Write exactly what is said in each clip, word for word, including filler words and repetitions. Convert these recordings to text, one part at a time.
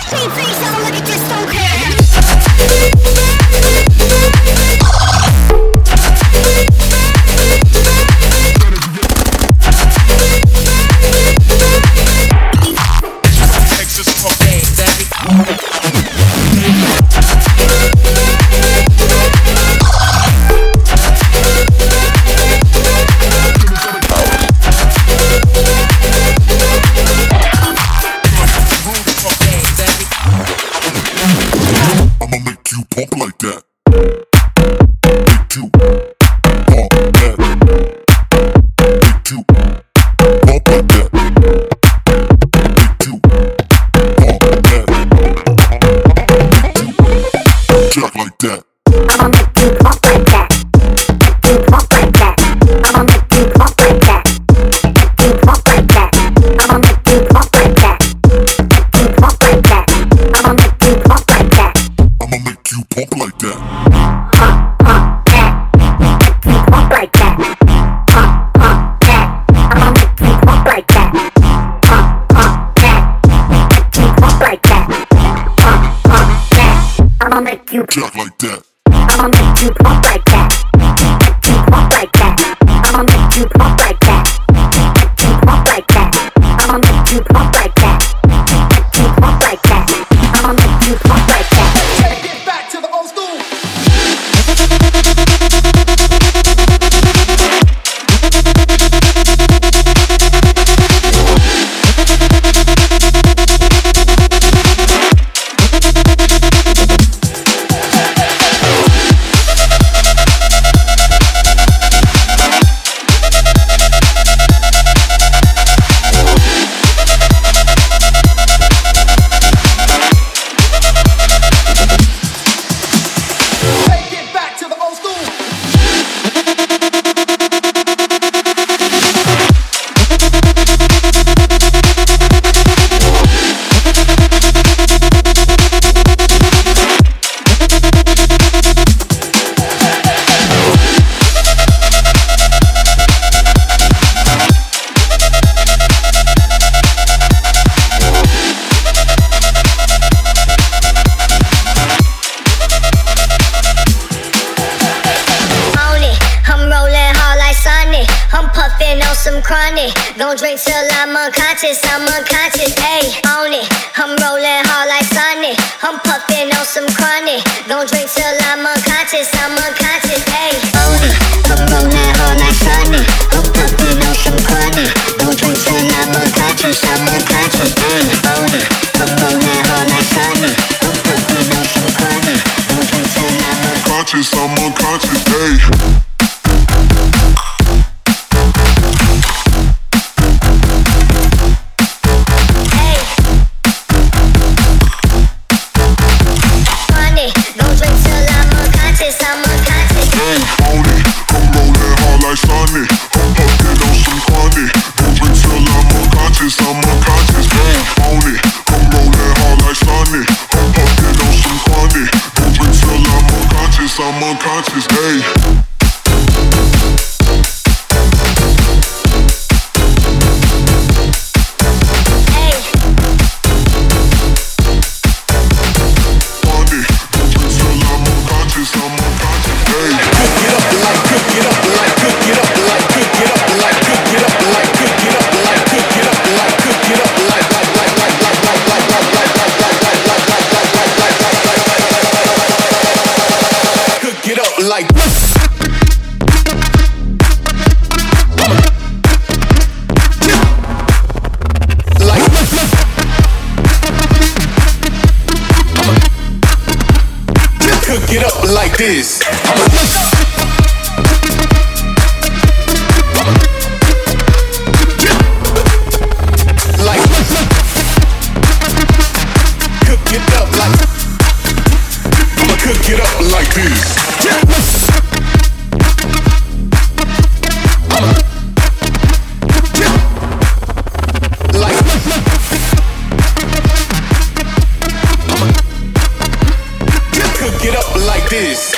Gon' drink till I'm unconscious, I'm unconscious, ayy, on it. I'm rolling hard like Sonic, I'm puffin' on some chronic. Gon' drink till I'm unconscious, I'm unconscious, ayy, on it. I'm rolling hard like Sonic, I'm puffin' on some chronic. Gon' drink till I'm unconscious, I'm unconscious, ayy, on it. I'm rolling hard like Sonic, I'm puffin' on some chronic. Gon' drink till I'm unconscious, I'm unconscious, ayy. I'm unconscious, ayy. Like cook it up like this. Like cook it up like I'ma cook it up like this. This.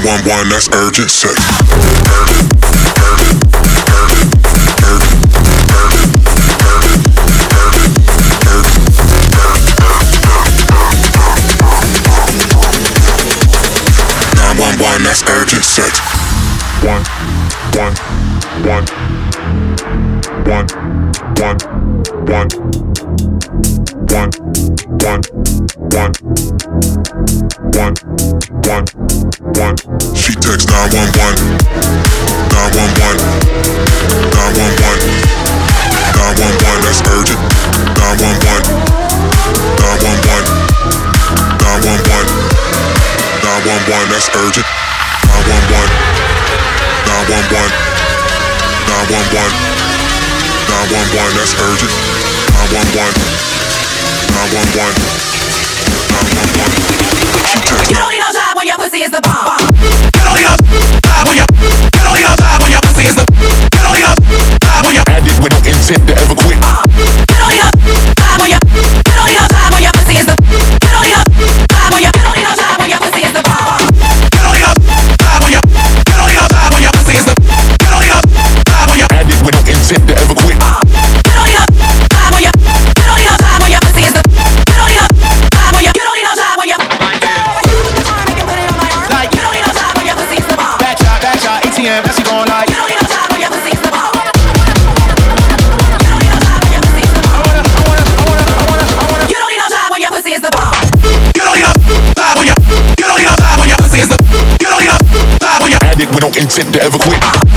one one, that's urgent sex. nine one one, that's urgent sex. One, one, one, one, one, one, one, one, one, one, one, one. She texts nine one one, nine one one, nine one one, nine one one, that's urgent. nine one one, nine one one, nine one one, nine one one, that's urgent. nine one one, nine one one, nine one one, nine one one, that's urgent. nine one one, nine one one, nine one one. She texts. You don't need no job when your pussy is the bomb. You don't need no job when your You don't need no job when your pussy is the You don't need no job when your Addict with no intent to ever quit. You don't need no job when your You don't need no job when your pussy is the You don't need no job when your You don't need no job when your pussy is the bomb. You don't need no job when your You don't need no job when your pussy is the You don't need no job when your Addict with no intent to ever quit. You don't need no job when your You don't need no job when your pussy is the You don't need no job when your You don't need no job when your Like, You don't need no job when your pussy is the bomb. back shot, back shot, A T M, that's going like. You don't need no job when your pussy is the bomb. You don't need no job when your pussy is the bomb. You don't need no job when your You don't need no job when your You don't need no job when your You don't need no job when your Addict with no intent to ever quit.